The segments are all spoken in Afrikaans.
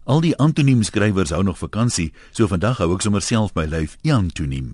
Al die antoniemskrywers hou nog vakansie, so vandag hou ek sommer self my lyf antoniem.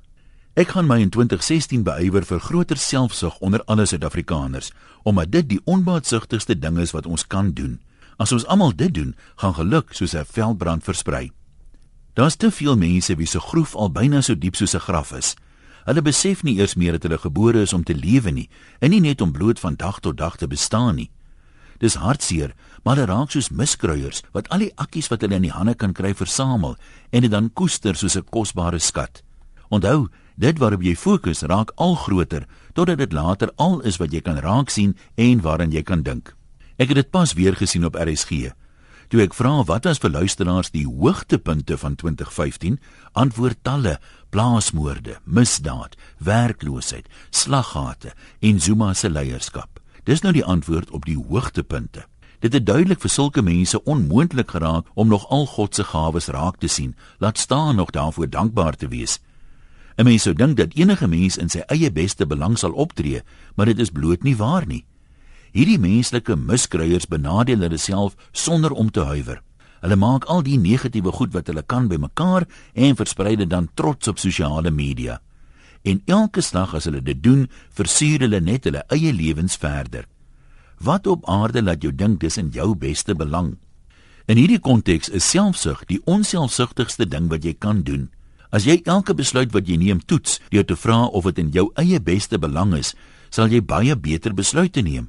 Ek gaan my in 2016 beywer vir groter selfsug onder alle Suid-Afrikaners, omdat dit die onbaatsugtigste ding is wat ons kan doen. As ons almal dit doen, gaan geluk soos 'n veldbrand versprei. Daar's te veel mense wie se groef al byna so diep soos 'n graf is. Hulle besef nie eers meer dat hulle gebore is om te lewe nie, en nie net om bloot van dag tot dag te bestaan nie. Dis hartseer, maar hulle raak soos miskruiers, wat al die akkies wat hulle in die hande kan kry versamel, en dit dan koester soos 'n kosbare skat. Onthou, dit waarop jy fokus raak al groter, totdat dit later al is wat jy kan raak sien en waaraan jy kan dink. Ek het dit pas weer gesien op RSG. Toe ek vra wat was vir luisteraars die hoogtepunte van 2015, antwoord talle: plaasmoorde, misdaad, werkloosheid, slaggate en Zuma se leierskap. Dis nou die antwoord op die hoogtepunte. Dit het duidelik vir sulke mense onmoontlik geraak om nog al God se gawes raak te sien, laat staan nog daarvoor dankbaar te wees. 'n Mens sou dink dat enige mens in sy eie beste belang sal optree, maar dit is bloot nie waar nie. Hierdie menslike miskruiers benadeel hulle self sonder om te huiwer. Hulle maak al die negatiewe goed wat hulle kan bymekaar en versprei dit dan trots op sosiale media. En elke slag as hulle dit doen, versuur hulle net hulle eie lewens verder. Wat op aarde laat jou dink dis in jou beste belang? In hierdie konteks is selfsug die onselfsugtigste ding wat jy kan doen. As jy elke besluit wat jy neem toets deur te vra of dit in jou eie beste belang is, sal jy baie beter besluite neem.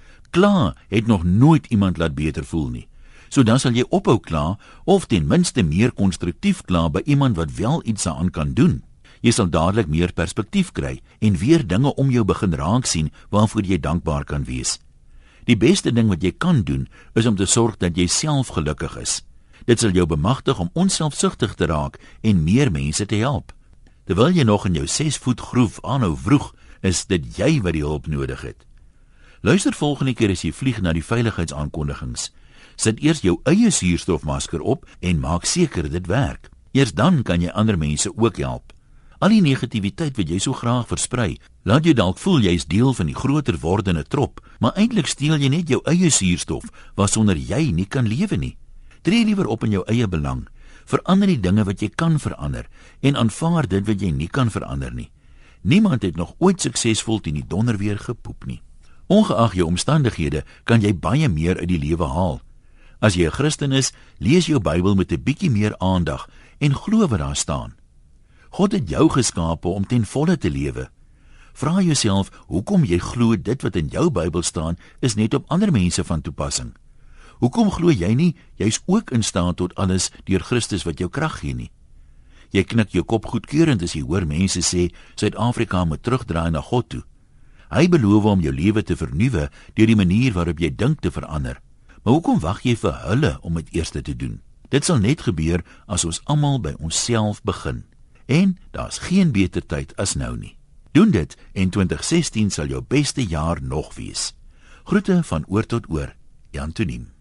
Kla het nog nooit iemand laat beter voel nie. So dan sal jy ophou kla of ten minste meer konstruktief kla by iemand wat wel iets daaraan kan doen. Jy sal dadelik meer perspektief kry en weer dinge om jou begin raak sien waarvoor jy dankbaar kan wees. Die beste ding wat jy kan doen is om te sorg dat jy self gelukkig is. Dit sal jou bemagtig om onselfsugtig te raak en meer mense te help. Terwyl jy nog in jou 6 voet groef aanhou vroeg, is dit jy wat die hulp nodig het. Luister volgende keer as jy vlieg na die veiligheidsaankondigings. Sit eers jou eie suurstofmasker op en maak seker dit werk. Eers dan kan jy ander mense ook help. Al die negativiteit wat jy so graag versprei, laat jou dalk voel jy is deel van die groter wordende trop, maar eintlik steel jy net jou eie suurstof, waarsonder jy nie kan lewe nie. Tree liewer op in jou eie belang. Verander die dinge wat jy kan verander en aanvaar dit wat jy nie kan verander nie. Niemand het nog ooit suksesvol teen die donderweer gepoep nie. Ongeag jou omstandighede kan jy baie meer uit die lewe haal. As jy 'n Christen is, lees jou Bybel met 'n bietjie meer aandag en glo wat daar staan. God het jou geskape om ten volle te lewe. Vra jouself hoekom jy glo dit wat in jou Bybel staan is net op ander mense van toepassing. Hoekom glo jy nie jy's ook in staat tot alles deur Christus wat jou krag gee nie? Jy knik jou kop goedkeurend as jy hoor mense sê Suid-Afrika moet terugdraai na God toe. Hy beloof om jou lewe te vernuwe deur die manier waarop jy dink te verander. Maar hoekom wag jy vir hulle om dit eers te doen? Dit sal net gebeur as ons almal by onsself begin. En daar's geen beter tyd as nou nie. Doen dit en 2016 sal jou beste jaar nog wees. Groete van oor tot oor, Antoniem.